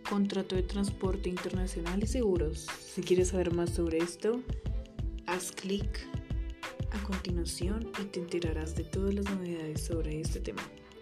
contrato de transporte internacional y seguros. Si quieres saber más sobre esto, haz clic a continuación y te enterarás de todas las novedades sobre este tema.